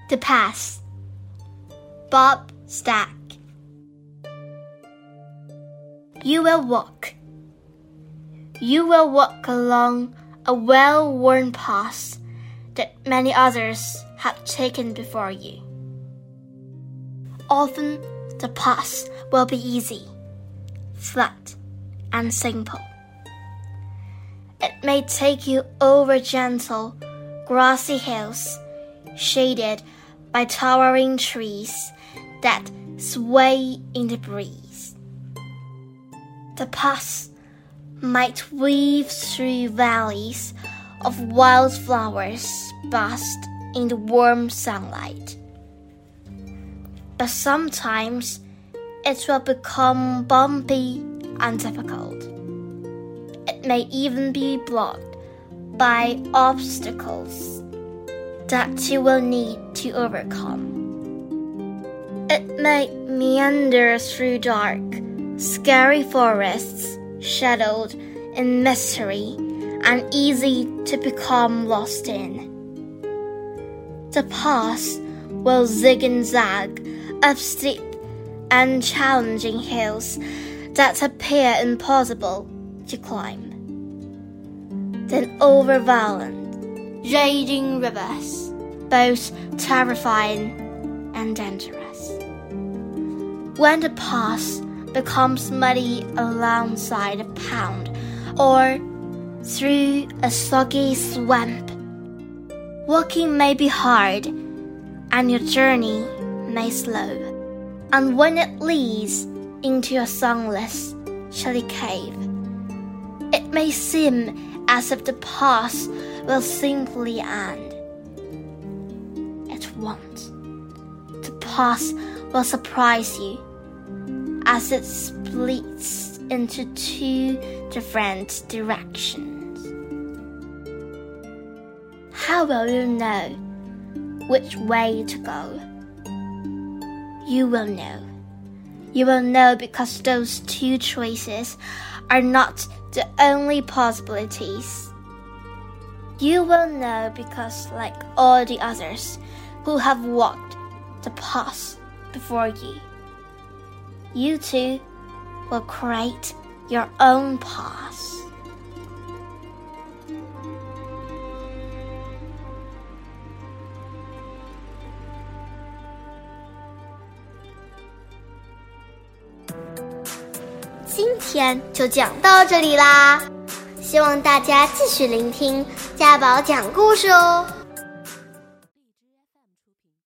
The Pass. Bob Stack. You will walk. You will walk along a well-worn path that many others have taken before you. Often, the path will be easy, flat, and simple. It may take you over gentle, grassy hills, shaded by towering trees that sway in the breeze. The path might weave through valleys of wildflowers basked in the warm sunlight. But sometimes it will become bumpy and difficult. It may even be blocked by obstacles that you will need to overcome. It may meander through dark, scary forests, shadowed in mystery and easy to become lost in. The path will zig and zag up steep and challenging hills that appear impossible to climb. Then over violent, raging rivers, both terrifying and dangerous. When the path becomes muddy alongside a pond or through a soggy swamp, walking may be hard and your journey may slow. And when it leads into a sunless, chilly cave, it may seem as if the path will simply end. It won't. The path will surprise you as it splits into two different directions. How will you know which way to go? You will know. You will know because those two choices are not the only possibilities. You will know because, like all the others who have walked the path before you, you too will create your own path.今天就讲到这里啦，希望大家继续聆听家宝讲故事哦。